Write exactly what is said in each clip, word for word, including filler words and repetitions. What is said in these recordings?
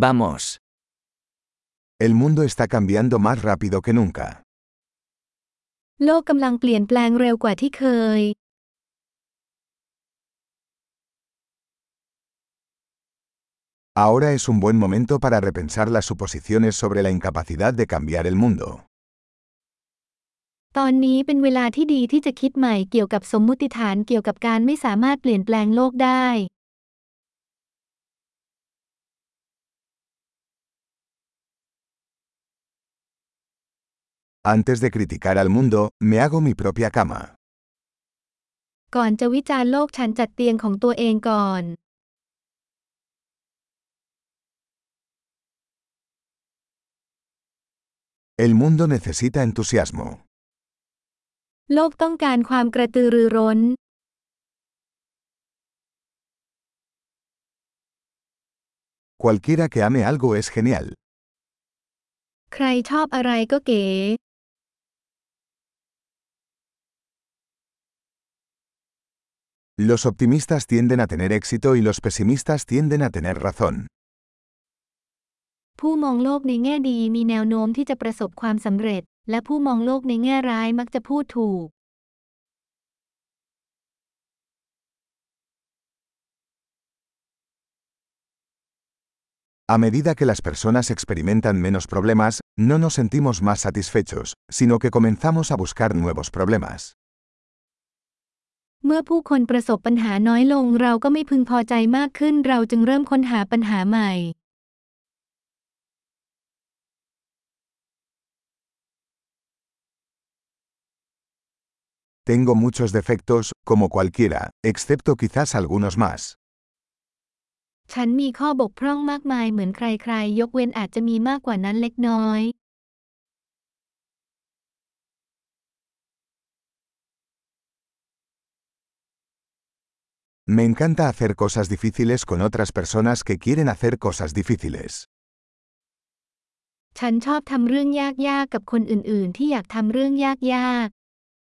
Vamos. El mundo está cambiando más rápido que nunca. โลกกำลังเปลี่ยนแปลงเร็วกว่าที่เคย Ahora es un buen momento para repensar las suposiciones sobre la incapacidad de cambiar el mundo. ตอนนี้เป็นเวลาที่ดีที่จะคิดใหม่เกี่ยวกับสมมุติฐานเกี่ยวกับการไม่สามารถเปลี่ยนแปลงโลกได้ Antes de criticar al mundo, me hago mi propia cama. ก่อนจะวิจารณ์โลกฉันจัดเตียงของตัวเองก่อน El mundo necesita entusiasmo. โลกต้องการความกระตือรือร้น Cualquiera que ame algo es genial. ใครชอบอะไรก็เก๋ Los optimistas tienden a tener éxito y los pesimistas tienden a tener razón. ผู้มองโลกในแง่ดีมีแนวโน้มที่จะประสบความสำเร็จและผู้มองโลกในแง่ร้ายมักจะพูดถูก A medida que las personas experimentan menos problemas, no nos sentimos más satisfechos, sino que comenzamos a buscar nuevos problemas. เมื่อผู้คนประสบปัญหาน้อยลงเราก็ไม่พึงพอใจมากขึ้นเราจึงเริ่มค้นหาปัญหาใหม่ Tengo muchos defectos, como cualquiera, excepto quizás algunos más. ฉันมีข้อบกพร่องมากมายเหมือนใครๆยกเว้นอาจจะมีมากกว่านั้นเล็กน้อย Me encanta hacer cosas difíciles con otras personas que quieren hacer cosas difíciles. ฉันชอบทำเรื่องยากๆกับคนอื่นๆที่อยากทำเรื่องยากๆ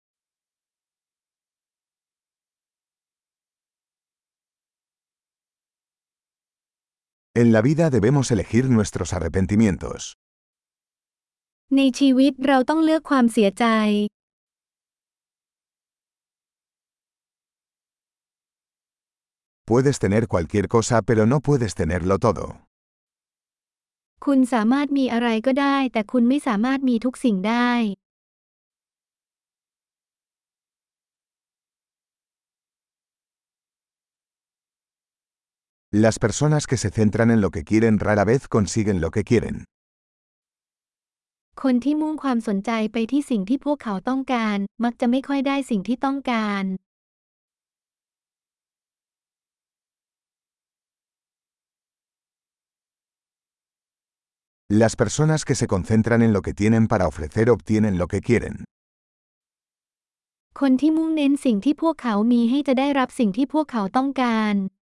En la vida debemos elegir nuestros arrepentimientos. ในชีวิตเราต้องเลือกความเสียใจ Puedes tener cualquier cosa pero no puedes tenerlo todo. คุณสามารถมีอะไรก็ได้แต่คุณไม่สามารถมีทุกสิ่งได้ Las personas que se centran en lo que quieren rara vez consiguen lo que quieren. คนที่มุ่งความสนใจไปที่สิ่งที่พวกเขาต้องการมักจะไม่ค่อยได้สิ่งที่ต้องการ Las personas que se concentran en lo que tienen para ofrecer obtienen lo que quieren. คนที่มุ่งเน้นสิ่งที่พวกเขามีให้จะได้รับสิ่งที่พวกเขาต้องการ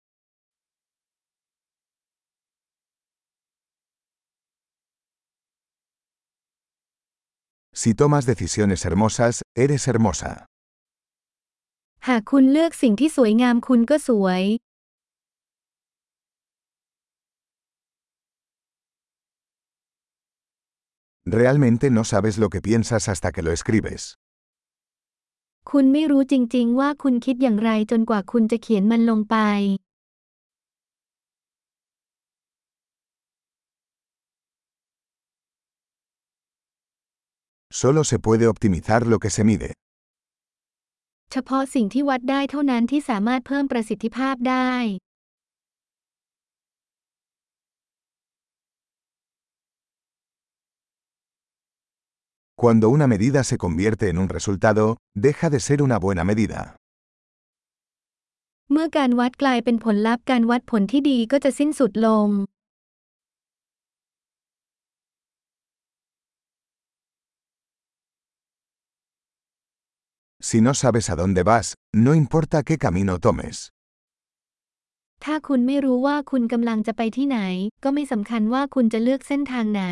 Si tomas decisiones hermosas, eres hermosa. หากคุณเลือกสิ่งที่สวยงามคุณก็สวย Realmente no sabes lo que piensas hasta que lo escribes. คุณไม่รู้จริงๆว่าคุณคิดอย่างไรจนกว่าคุณจะเขียนมันลงไป Solo se puede optimizar lo que se mide. เฉพาะสิ่งที่วัดได้เท่านั้นที่สามารถเพิ่มประสิทธิภาพได้ Cuando una medida se convierte en un resultado, deja de ser una buena medida. เมื่อการวัดกลายเป็นผลลัพธ์การวัดผลที่ดีก็จะสิ้นสุดลง Si no sabes a dónde vas, no importa qué camino tomes. ถ้าคุณไม่รู้ว่าคุณกำลังจะไปที่ไหนก็ไม่สำคัญว่าคุณจะเลือกเส้นทางไหน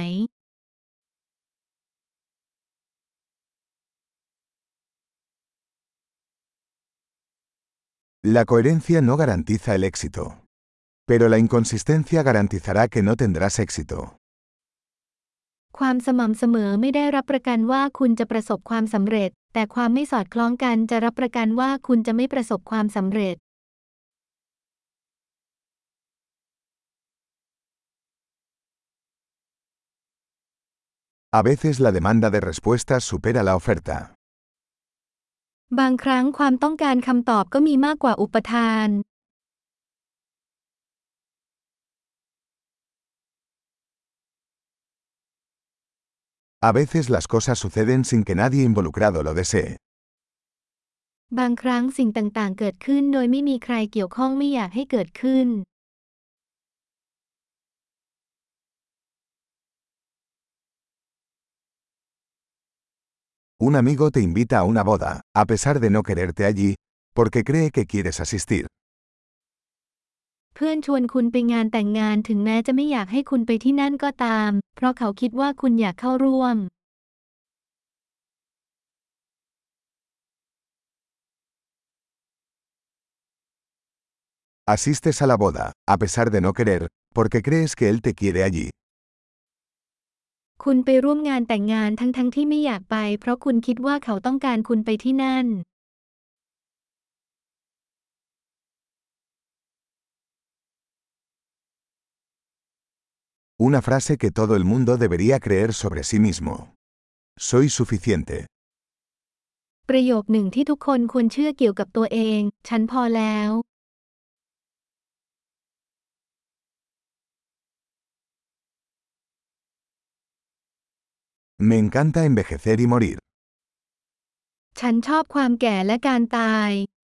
La coherencia no garantiza el éxito. Pero la inconsistencia garantizará que no tendrás éxito. ความสม่ำเสมอไม่ได้รับประกันว่าคุณจะประสบความสำเร็จแต่ความไม่สอดคล้องกันจะรับประกันว่าคุณจะไม่ประสบความสำเร็จ A veces la demanda de respuestas supera la oferta. บางครั้งความต้องการคำตอบก็มีมากกว่าอุปทาน A veces las cosas suceden sin que nadie involucrado lo desee. บางครั้งสิ่งต่างๆเกิดขึ้นโดยไม่มีใครเกี่ยวข้องไม่อยากให้เกิดขึ้น Un amigo te invita a una boda, a pesar de no quererte allí, porque cree que quieres asistir. เพื่อนชวนคุณไปงานแต่งงานถึงแม้จะไม่อยากให้คุณไปที่นั่นก็ตามเพราะเขาคิดว่าคุณอยากเข้าร่วม Asistes a la boda, a pesar de no querer, porque crees que él te quiere allí. คุณไปร่วมงานแต่งงานทั้งๆที่ไม่อยากไปเพราะคุณคิดว่าเขาต้องการคุณไปที่นั่น Una frase que todo el mundo debería creer sobre sí mismo. Soy suficiente. ประโยคหนึ่งที่ทุกคนควรเชื่อเกี่ยวกับตัวเอง ฉันพอแล้ว Me encanta envejecer y morir. ฉันชอบความแก่และการตาย